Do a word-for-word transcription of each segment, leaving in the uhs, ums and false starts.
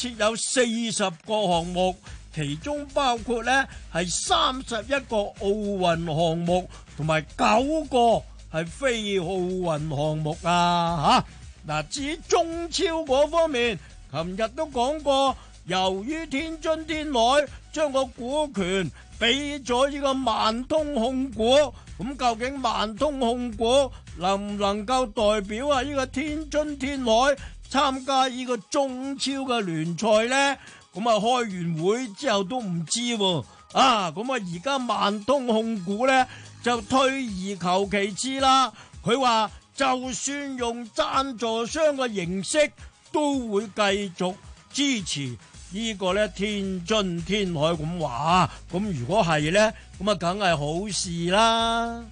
設有四十個項目，其中包括咧係三十一個奧運項目，同埋九個係非奧運項目啊！吓，嗱，至於中超嗰方面，琴日都講過，由於天津天海將個股權俾咗呢個萬通控股，咁究竟萬通控股能唔能夠代表啊呢個天津天海參加呢個中超嘅聯賽呢？咁啊開完會之後都唔知喎，啊咁啊而家萬通控股呢就退而求其次啦，佢話就算用贊助商嘅形式都會繼續支持呢個咧天津天海咁話，咁如果係呢，咁啊梗係好事啦。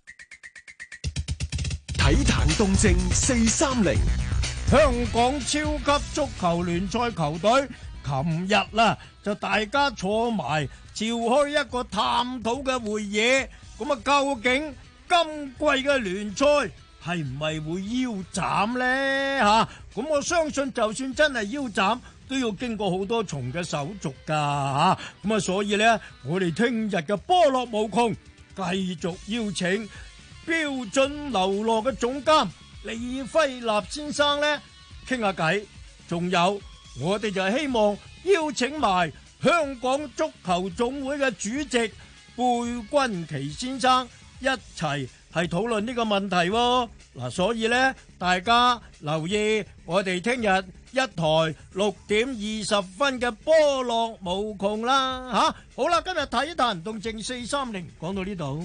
體壇動靜四三零， 香港超級足球聯賽球隊琴日啦就大家坐埋召開一個探討嘅會議，咁啊究竟今季嘅聯賽係唔係會腰斬呢？吓，咁我相信就算真係腰斬，都要經過好多重嘅手續噶吓，咁啊所以呢，我哋聽日嘅波樂無窮繼續邀請標準流浪嘅總監李輝立先生呢傾下偈，仲有我哋就希望邀請埋香港足球總會嘅主席貝君奇先生一齊係討論呢個問題喎。嗱，所以呢，大家留意我哋聽日一台六點二十分嘅波樂無窮啦吓。好啦，今日體壇動靜四三零講到呢度。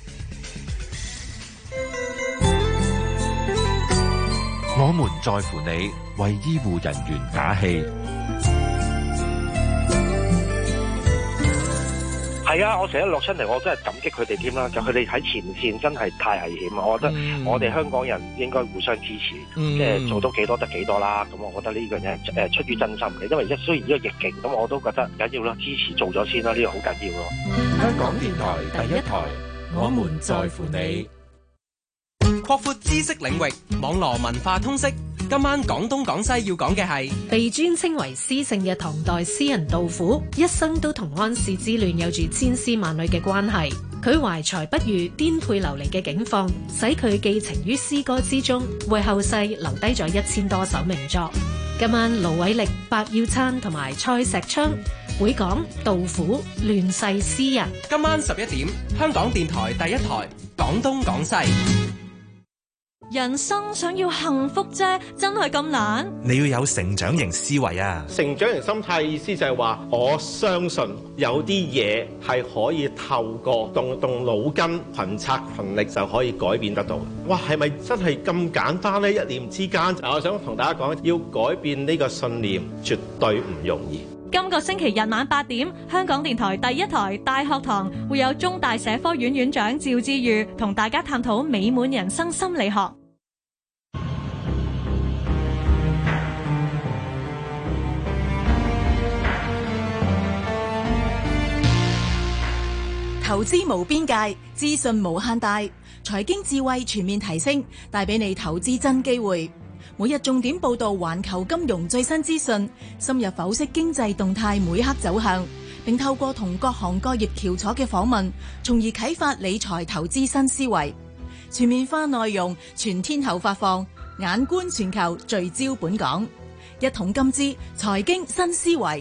我們在乎你，為醫護人員打氣。 係啊，我成日落親嚟，我真係感激佢哋添啦。就佢哋喺前線真係太危險啊！我覺得我哋香港人應該互相支持， 嗯、 即係做到幾多得幾多啦。咁我覺得呢樣嘢誒出於真心嘅，因為一雖然呢個逆境，咁我都覺得緊要啦，支持做咗先啦，呢、呢個好緊要咯。 香港電台第一台，我們在乎你。 擴闊知識領域，網羅文化通識。今晚廣東廣西要講嘅係被尊稱為詩聖嘅唐代詩人杜甫，一生都同安史之亂有住千絲萬縷嘅關係。佢懷才不遇、顛沛流離嘅境況，使佢寄情於詩歌之中，為後世留低咗一千多首名作。今晚盧偉力、白耀燦同埋蔡石昌會講杜甫亂世詩人。 今晚十一點，香港電台第一台廣東廣西。 人生想要幸福啫，真係咁難？ 你要有成長型思維啊！ 成長型心態意思就係話，我相信有啲嘢係可以透過動動腦筋、群策群力就可以改變得到。哇，係咪真係咁簡單呢？一念之間，我想同大家講，要改變呢個信念，絕對唔容易。 今個星期日晚八點，香港電台第一台大學堂會有中大社科院院長趙志裕同大家探討美滿人生心理學。 投資無邊界，資訊無限大，財經智慧全面提升，帶俾你投資真機會。每日重點報道環球金融最新資訊，深入剖析經濟動態每刻走向，並透過同各行各業翹楚嘅訪問，從而啟發理財投資新思維。全面化內容，全天候發放，眼觀全球，聚焦本港。一桶金之財經新思維。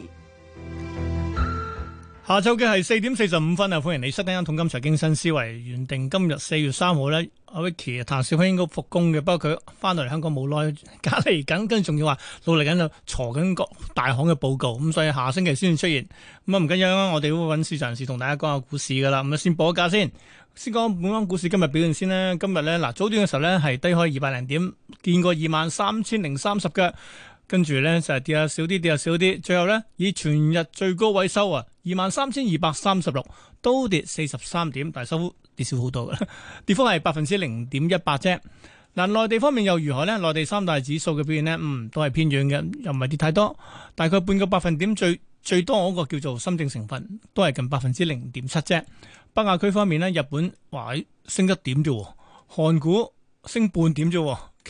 下晝嘅係四點四十五分啊！歡迎你收聽《一桶金財經新思維》。原定今日四月三號咧，阿 Vicky 譚少卿應該復工嘅，不過佢翻到嚟香港冇耐，隔離緊，跟住仲要話努力緊就鋤緊各大行嘅報告，咁所以下星期先出現。咁啊唔緊要啊，我哋都會揾市場人士同大家講下股市噶啦。咁啊先報個價先，先講本港股市今日表現先啦。今日咧嗱早段嘅時候咧係低開二百零點，見過二萬三千零三十嘅。跟住咧就係跌下少啲，跌下少啲，最後咧以全日最高位收啊，二萬三千二百三十六，都跌四十三點，但係收跌少好多嘅，跌幅係百分之零點一八啫。嗱，內地方面又如何呢？內地三大指數嘅表現呢，嗯，都係偏軟嘅，又唔係跌太多，大概半個百分點最最多嗰個叫做深證成分，都係近百分之零點七啫。北亞區方面呢，日本話升一點啫，韓股升半點啫。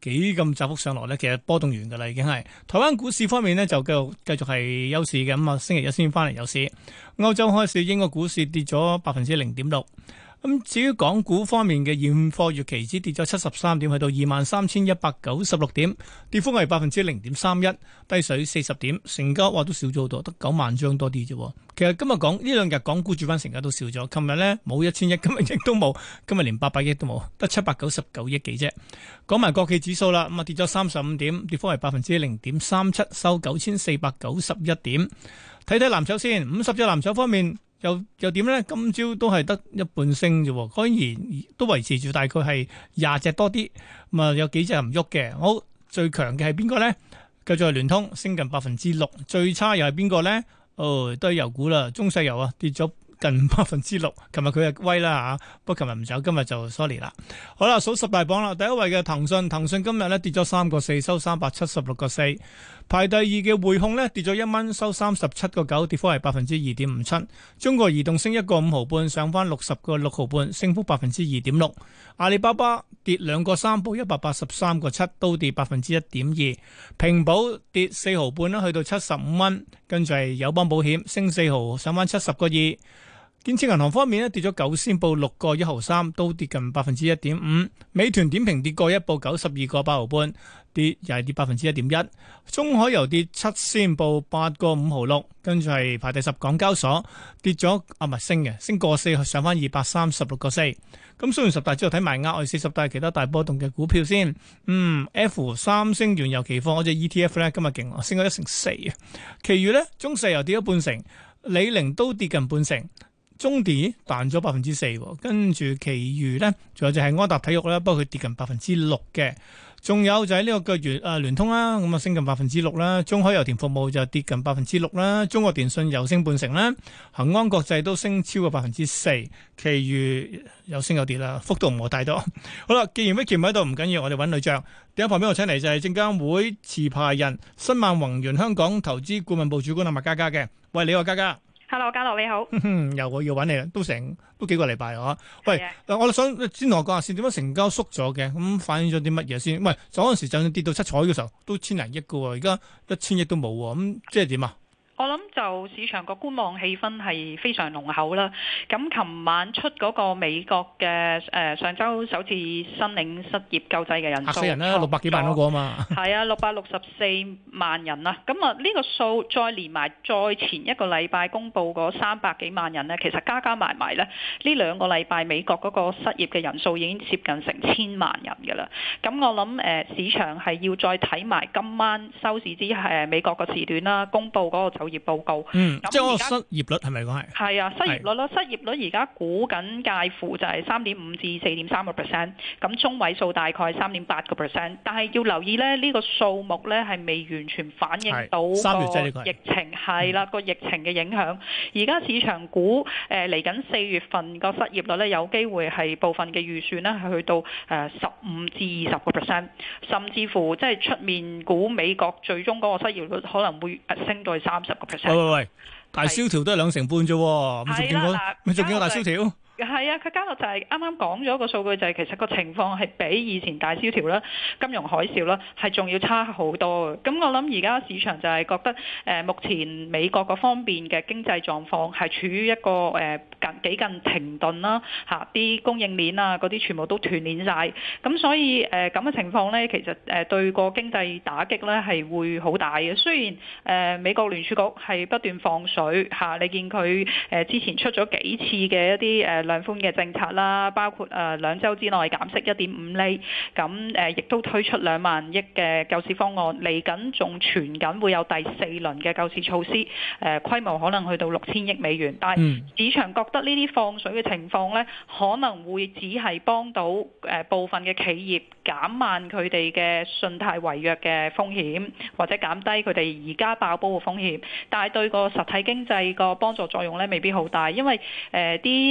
幾咁窄幅上落咧，其實波動完㗎啦，已經係。台灣股市方面呢，就繼續繼續係休市嘅，咁啊星期一先翻嚟有市。歐洲開市，英國股市跌咗百分之零點六。咁至於港股方面嘅現貨月期指跌咗七十三點，去到二萬三千一百九十六點，跌幅係百分之零點三一，低水四十點，成交話都少咗好多，得九萬張多啲啫。其實今日講呢兩日港股主板成交都少咗，琴日呢冇一千億，今日亦都冇，今日連八百億都冇，得七百九十九億幾啫。講埋國企指數啦，咁啊跌咗三十五點，跌幅係百分之零點三七，收九千四百九十一點。睇睇藍籌先，五十隻藍籌方面。又又點咧？今朝都係得一半升啫，當然都維持住大概係廿隻多啲。咁啊，有幾隻唔喐嘅。好，最強嘅係邊個咧？繼續係聯通，升近百分之六。最差又係邊個咧？哦，都係油股啦，中石油啊，跌咗近百分之六。琴日佢係威啦吓，不過琴日唔走，今日就 sorry 啦。好啦，數十大榜啦，第一位嘅騰訊，騰訊今日咧跌咗三個四，收三百七十六個四。排第二嘅匯控咧跌咗一蚊，收三十七個九，跌幅係百分之二點五七。中國移動升一個五毫半，上翻六十個六毫半，升幅百分之二點六。阿里巴巴跌兩個三，報一百八十三個七，都跌百分之一點二。平保跌四毫半啦，去到七十五蚊。跟住係友邦保險升四毫，上翻七十個二。建設銀行方面咧跌咗九仙，報六個一毫三，都跌近百分之一點五。美團點評跌過一，報九十二個八毫半，跌又係跌百分之一點一。中海油跌七仙，報八個五毫六，跟住係排第十。港交所跌咗啊，唔係升嘅，升過四，上翻二百三十六個四。咁雖然十大之後睇埋額外四十大其他大波動嘅股票先。嗯 ，F 三星原油期貨嗰隻 E T F 咧今日勁，升咗一成四啊。其餘咧中石油跌咗半成，李寧都跌近半成。中電彈咗百分之四，跟住其餘咧，仲有就係安踏體育啦，不過佢跌近百分之六嘅。仲有就係呢個嘅誒聯通啦，咁啊升近百分之六啦。中海油田服務就跌近百分之六啦。中國電信又升半成啦。恒安國際都升超過百分之四，其餘有升有跌啦，幅度唔係太多。好啦，既然 Vicky 唔喺度，唔緊要，我哋揾女將。第一旁邊我請嚟就係證監會持牌人新萬宏源香港投資顧問部主管阿麥嘉嘉嘅。喂，你好，嘉嘉。 Hello， 嘉樂你好。 又我要揾你啦，都成都幾個禮拜啊！喂，我想先同我講下先，點解成交縮咗嘅？咁反映咗啲乜嘢先？喂，嗰陣時就算跌到七彩嘅時候，都千零億嘅喎，而家一千億都冇喎，咁即係點啊？ 我諗就市場個觀望氣氛係非常濃厚啦。咁琴晚出嗰個美國嘅誒、呃、上週首次申領失業救濟嘅人數，嚇死人啦， 六百幾萬嗰個啊嘛。 係啊，六百六十四萬人啦。咁啊，呢個數再連埋再前一個禮拜公佈嗰三百幾萬人呢，其實加加埋埋呢，呢兩個禮拜美國嗰個失業嘅人數已經接近成千萬人㗎啦。咁我諗誒、呃、市場係要再睇埋今晚收市之誒美國個時段啦，公佈嗰個就業報告， 嗯，即係嗰個失業率係咪講係？ 係啊，失業率咯，失業率而家估緊介乎就係三點五至四點三個 percent，咁中位數大概三點八個 percent，但係要留意咧，呢個數目咧係未完全反映到個疫情係啦，個疫情嘅影響。而家市場估誒嚟緊四月份個失業率咧有機會係部分嘅預算咧係去到誒十五至二十個 percent，甚至乎即係出面估美國最終嗰個失業率可能會升到去三十個 percent。 喂喂喂，大蕭條都係兩成半啫，咁仲見過，咪仲見過大蕭條？ 係啊，佢加落就係啱啱講咗個數據，就係其實個情況係比以前大蕭條啦、金融海嘯啦係仲要差好多嘅。咁我諗而家市場就係覺得誒、呃、目前美國嗰方面嘅經濟狀況係處於一個誒近幾近停頓啦，嚇啲供應鏈啊嗰啲全部都斷鏈晒。咁所以誒咁嘅情況咧，其實誒對個經濟打擊咧係會好大嘅。雖然誒、呃、美國聯儲局係不斷放水嚇、啊，你見佢誒之前出咗幾次嘅一啲誒。呃量寬嘅政策啦，包括誒兩週之內減息一點五厘，咁誒亦都推出兩萬億嘅救市方案，嚟緊仲傳緊會有第四輪嘅救市措施，誒規模可能去到六千億美元，但係市場覺得呢啲放水嘅情況呢，可能會只係幫到誒部分嘅企業減慢佢哋嘅信貸違約嘅風險，或者減低佢哋而家爆煲嘅風險，但係對個實體經濟個幫助作用呢，未必好大，因為誒啲量寬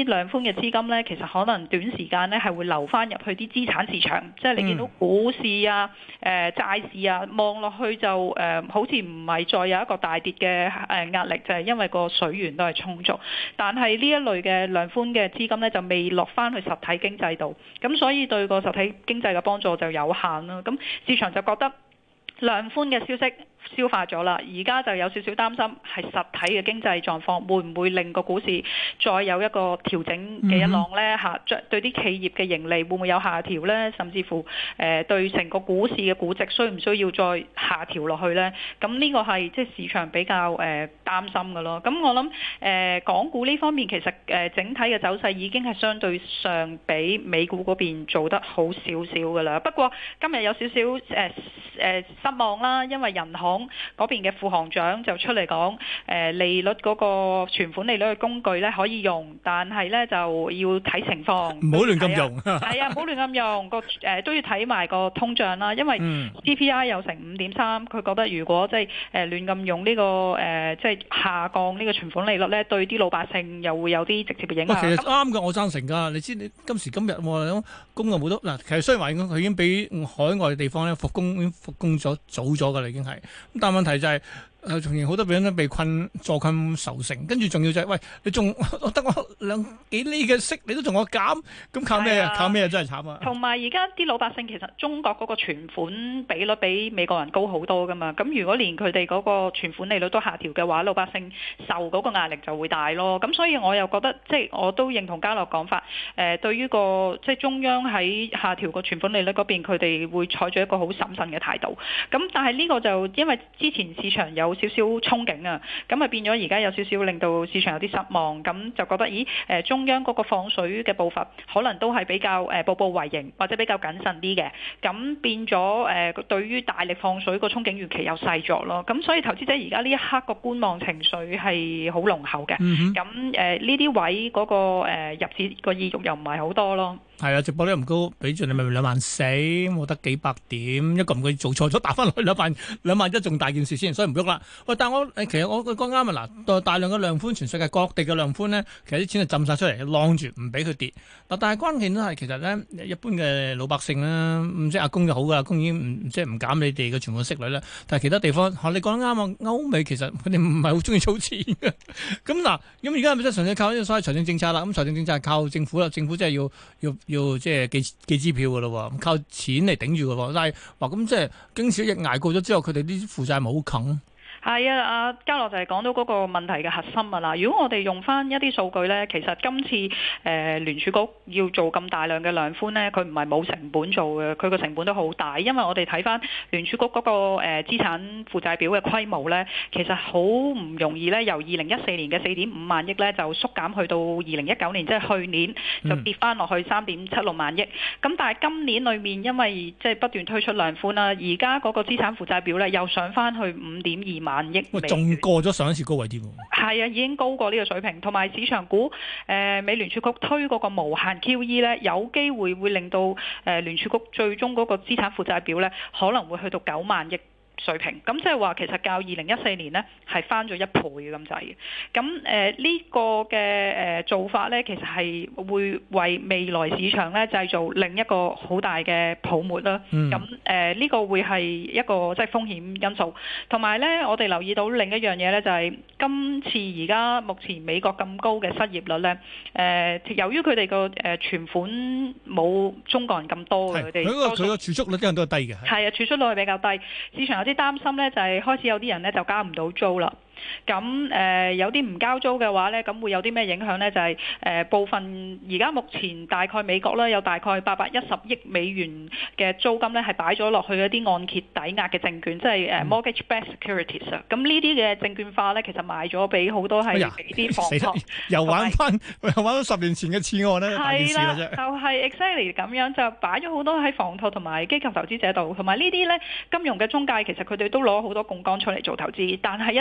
嘅資金咧，其實可能短時間咧係會流翻入去啲資產市場，即係你見到股市啊、誒、呃、債市啊，望落去就誒、呃、好似唔係再有一個大跌嘅誒壓力，就係、是、因為個水源都係充足。但係呢一類嘅量寬嘅資金咧就未落翻去實體經濟度，咁所以對個實體經濟嘅幫助就有限啦。咁市場就覺得量寬嘅消息消化咗啦，而家就有少少擔心係實體嘅經濟狀況會唔會令個股市再有一個調整嘅一浪呢？嚇、嗯，對啲企業嘅盈利會唔會有下調呢？甚至乎誒、呃、對成個股市嘅估值需唔需要再下調落去呢？咁呢個係即係市場比較誒、呃、擔心嘅咯。咁我諗誒、呃、港股呢方面其實誒、呃、整體嘅走勢已經係相對上比美股嗰邊做得好少少嘅啦。不過今日有少少誒誒失望啦，因為人行嗰邊嘅副行長就出嚟講，誒利率嗰個存款利率嘅工具咧可以用，但係咧就要睇情況， 唔好亂咁用。 係啊，唔好亂咁用個誒都要睇埋個通脹啦，因為 C P I 有成五點三，佢覺得如果即係誒亂咁用呢個誒即係下降呢個存款利率咧，對啲老百姓又會有啲直接嘅影響。 其實啱嘅，我贊成㗎。你知你今時今日我供又冇得嗱，其實雖然話佢已經比海外嘅地方咧復工已經復工咗早咗㗎啦，已經係。但問題就係、是、誒，從前好多人都被困坐困愁城，跟住仲要就係、是、喂，你仲得我兩幾厘嘅息，你都仲我減，咁靠咩啊？靠咩啊？真係慘啊！同埋而家啲老百姓其實中國嗰個存款比率比美國人高好多噶嘛，咁如果連佢哋嗰個存款利率都下調嘅話，老百姓受嗰個壓力就會大咯。咁所以我又覺得即係我都認同嘉樂講法，誒、呃、對於個即係中央喺下調個存款利率嗰邊，佢哋會採取一個好審慎嘅態度。咁但係呢個就因為之前市場有少少憧憬啊，咁啊變咗而家有少少令到市場有啲失望，咁就覺得咦誒中央嗰個放水嘅步伐可能都係比較誒步步為營或者比較謹慎啲嘅，咁變咗誒對於大力放水個憧憬預期又細咗咯，咁所以投資者而家呢一刻個觀望情緒係好濃厚嘅，咁誒呢啲位嗰個誒入市個意欲又唔係好多咯。係啊，直播率唔高，俾住你咪兩萬四，冇得幾百點，一個唔該做錯咗，打翻落去兩萬兩萬一，仲大件事先，所以唔喐啦。喂，但係我誒其實我講啱啊，嗱，大量嘅量寬，全世界各地嘅量寬咧，其實啲錢係浸晒出嚟，晾住唔俾佢跌。嗱，但係關鍵都係其實咧，一般嘅老百姓啦，唔知阿公就好噶，阿公已經唔即係唔減你哋嘅全部息率啦。但係其他地方，嚇你講得啱啊，歐美其實佢哋唔係好中意儲錢嘅。咁嗱，咁而家係咪真係純粹靠呢個所謂財政政策啦？咁財政政策係靠政府啦，政府真係要要。要要即係寄寄支票噶咯，靠錢嚟頂住噶，但係話咁即係經小疫捱過咗之後，佢哋啲負債咪好啃。係啊，阿嘉樂就係講到嗰個問題嘅核心啊啦。如果我哋用翻一啲數據呢，其實今次誒、呃、聯儲局要做咁大量嘅量寬呢，佢唔係冇成本做嘅，佢個成本都好大。因為我哋睇翻聯儲局嗰、那個誒、呃、資產負債表嘅規模呢，其實好唔容易呢，由二零一四年嘅四點五萬億呢，就縮減去到二零一九年，即係去年就跌翻落去三點七六萬億。咁、嗯、但係今年裏面因為即係不斷推出量寬啦，而家嗰個資產負債表呢，又上翻去五點二萬萬億，仲過咗上一次高位啲喎。係啊，已經高過呢個水平，同埋市場估誒、呃、美聯儲局推嗰個無限 Q E 咧，有機會會令到誒、呃、聯儲局最終嗰個資產負債表咧，可能會去到九萬億水平。咁即係話其實較二零一四年呢係翻咗一倍咁滯嘅。咁誒呢個嘅誒、呃、做法咧，其實係會為未來市場咧製造另一個好大嘅泡沫啦。咁誒呢個會係一個即係風險因素。同埋咧，我哋留意到另一樣嘢咧，就係、是、今次而家目前美國咁高嘅失業率咧，誒、呃、由於佢哋個誒存款冇中國人咁多嘅，佢哋佢個佢個儲蓄率啲人都係低嘅。係啊，儲蓄率係比較低，市場有啲擔心咧，就係開始有啲人咧就交唔到租啦。咁誒、呃、有啲唔交租嘅話咧，咁會有啲咩影響咧？就係、是、誒、呃、部分而家目前大概美國咧有大概八百一十億美元嘅租金咧係擺咗落去一啲按揭抵押嘅證券，即係誒 mortgage-backed securities 啊。咁呢啲嘅證券化咧，其實賣咗俾好多係俾啲房託，又玩翻又玩到十年前嘅次案咧，大件事啦啫。就係、是、exactly 咁樣，就擺咗好多喺房託同埋機構投資者度，同埋呢啲咧金融嘅中介其實佢哋都攞好多槓桿出嚟做投資，但係一旦啲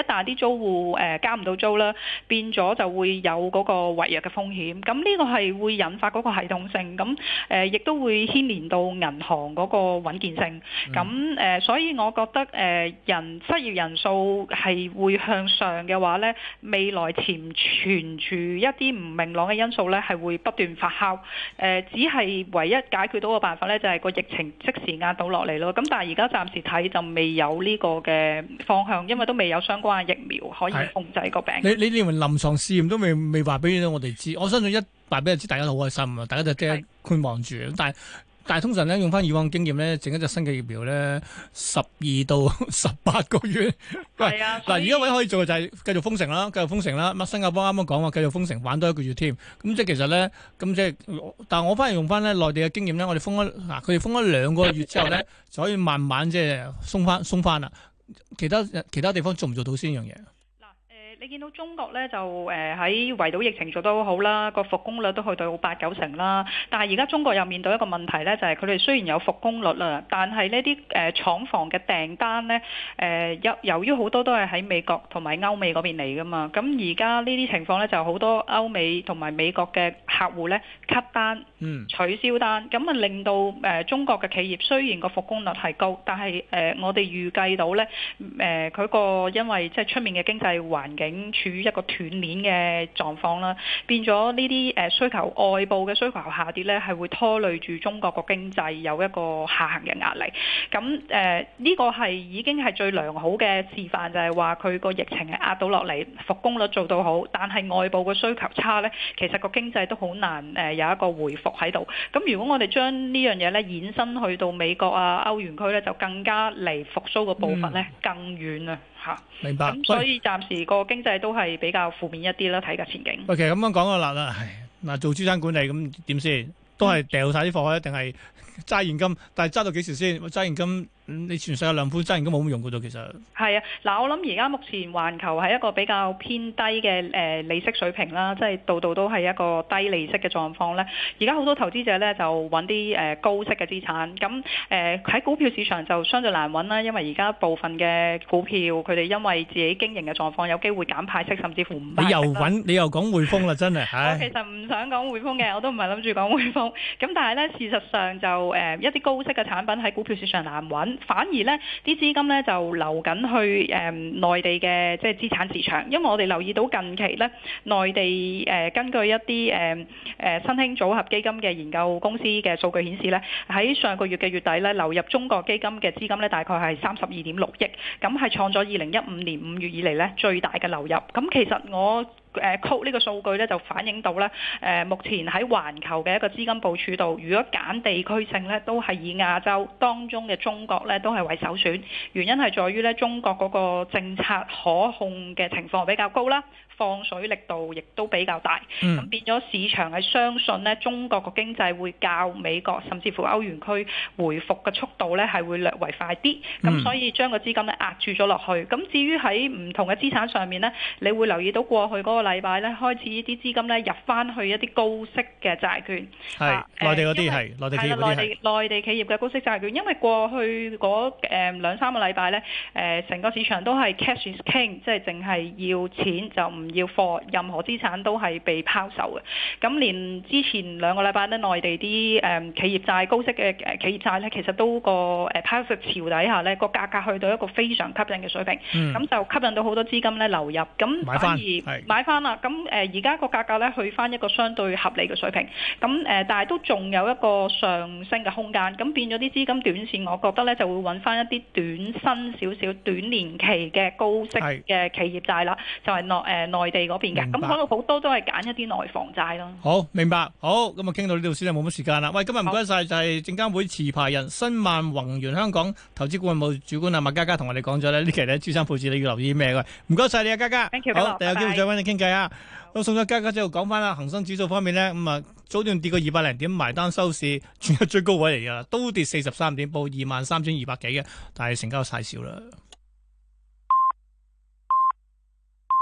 租戶誒、呃、交唔到租啦，變咗就會有嗰個違約嘅風險。咁呢個係會引發嗰個系統性，咁誒亦都會牽連到銀行嗰個穩健性。咁誒、呃，所以我覺得誒、呃、人失業人數係會向上嘅話咧，未來潛存住一啲唔明朗嘅因素咧，係會不斷發酵。誒、呃，只係唯一解決到嘅辦法咧，就係、是、個疫情即時壓到落嚟咯。咁但係而家暫時睇就未有呢個嘅方向，因為都未有相關嘅疫苗可以控制個病。 你你認為臨床試驗都未未話俾我哋知？我相信一話俾你知，大家都好開心啊！大家就即係觀望住。但係但係通常咧，用翻以往經驗咧，整一隻新嘅疫苗咧，十二到十八個月。係啊，嗱，而家唯一可以做嘅就係繼續封城啦，繼續封城啦。咁新加坡啱啱講話繼續封城，玩多一個月添。咁即係其實咧，咁即係，但係我反而用翻咧內地嘅經驗咧，我哋封咗嗱，佢哋封咗兩個月之後咧，就可以慢慢即係鬆翻鬆翻啦。其他其他地方做唔做到先呢樣嘢？ 你見到中國咧就誒喺圍堵疫情做得好好啦，個復工率都去到八九成啦。但係而家中國又面對一個問題咧，就係佢哋雖然有復工率啦，但係呢啲誒廠房嘅訂單咧誒由由於好多都係喺美國同埋歐美嗰邊嚟噶嘛，咁而家呢啲情況咧就好多歐美同埋美國嘅客戶咧 cut 單、嗯、取消單，咁啊令到誒中國嘅企業雖然個復工率係高，但係誒我哋預計到咧誒佢個因為即係出面嘅經濟環境處於一個斷鏈嘅狀況啦，變咗呢啲誒需求外部嘅需求下跌咧，係會拖累住中國個經濟有一個下行嘅壓力。咁誒呢個係已經係最良好嘅示範，就係話佢個疫情係壓到落嚟，復工率做到好，但係外部嘅需求差咧，其實個經濟都好難誒有一個回復喺度。咁如果我哋將呢樣嘢咧延伸去到美國啊、歐元區咧，就更加離復甦嘅步伐咧更遠啊！嚇， 明白。 咁所以暫時個經濟都係比較負面一啲啦，睇嘅前景。 喂，其實咁樣講個啦啦，嗱做資產管理咁點先？都係掉晒啲貨，一定係揸現金？但係揸到幾時先？揸現金？你全世界兩款揸現金冇乜用嘅啫，其實係啊。嗱，我諗而家目前環球係一個比較偏低嘅誒利息水平啦，即係度度都係一個低利息嘅狀況咧。而家好多投資者咧就揾啲誒高息嘅資產，咁誒喺股票市場就相對難揾啦，因為而家部分嘅股票佢哋因為自己經營嘅狀況有機會減派息，甚至乎唔派息。你又揾你又講匯豐啦，真係。我其實唔想講匯豐嘅，我都唔係諗住講匯豐。咁但係咧，事實上就誒一啲高息嘅產品喺股票市場難揾。反而咧，啲資金咧就流緊去誒、呃、內地嘅即係資產市場，因為我哋留意到近期咧，內地誒、呃、根據一啲誒誒新興組合基金嘅研究公司嘅數據顯示咧，喺上個月嘅月底咧，流入中國基金嘅資金咧大概係三十二點六億，咁係創咗二零一五年五月以嚟咧最大嘅流入。咁其實我誒 quote 呢個數據咧就反映到咧誒目前喺環球嘅一個資金部署度，如果揀地區性咧，都係以亞洲當中嘅中國咧都係為首選。原因係在於咧中國嗰個政策可控嘅情況比較高啦，放水力度亦都比較大，咁、嗯、變咗市場係相信咧中國個經濟會較美國甚至乎歐元區回復嘅速度咧係會略為快啲，咁、嗯、所以將個資金咧壓住咗落去。咁至於喺唔同嘅資產上面咧，你會留意到過去嗰個禮拜咧開始啲資金咧入翻去一啲高息嘅債券，係、啊、內地嗰啲係內地企業嗰啲係內地企業嘅高息債券，因為過去嗰誒兩三個禮拜咧誒成個市場都係 cash is king， 即係淨係要錢就唔要貨，任何資產都係被拋售嘅。咁連之前兩個禮拜咧，內地啲誒企業債高息嘅誒企業債咧，其實都個誒拋售潮底下咧，個價格去到一個非常吸引嘅水平，咁、嗯、就吸引到好多資金咧流入，咁反而買翻啦。咁誒而家個價格咧去翻一個相對合理嘅水平，咁誒但係都仲有一個上升嘅空間。咁變咗啲資金短線，我覺得咧就會揾翻一啲短薪少少、短年期嘅高息嘅企業債啦，就係內誒內地嗰邊嘅。咁可能好多都係揀一啲內房債咯。好，明白。好，咁啊傾到呢度先啦，冇乜時間啦。喂，今日唔該晒，就係證監會持牌人申萬宏源香港投資顧問部主管啊麥嘉嘉同我哋講咗咧，呢期咧資產配置你要留意咩嘅？唔該晒你啊，嘉嘉。Thank you。好，第日有機會再揾你傾偈啊。我送咗嘉嘉之後講翻啦，恒生指數方面咧，咁啊早段跌過二百零點，埋單收市，全日最高位嚟噶啦，都跌四十三點，報二萬三千二百幾嘅，但係成交太少啦。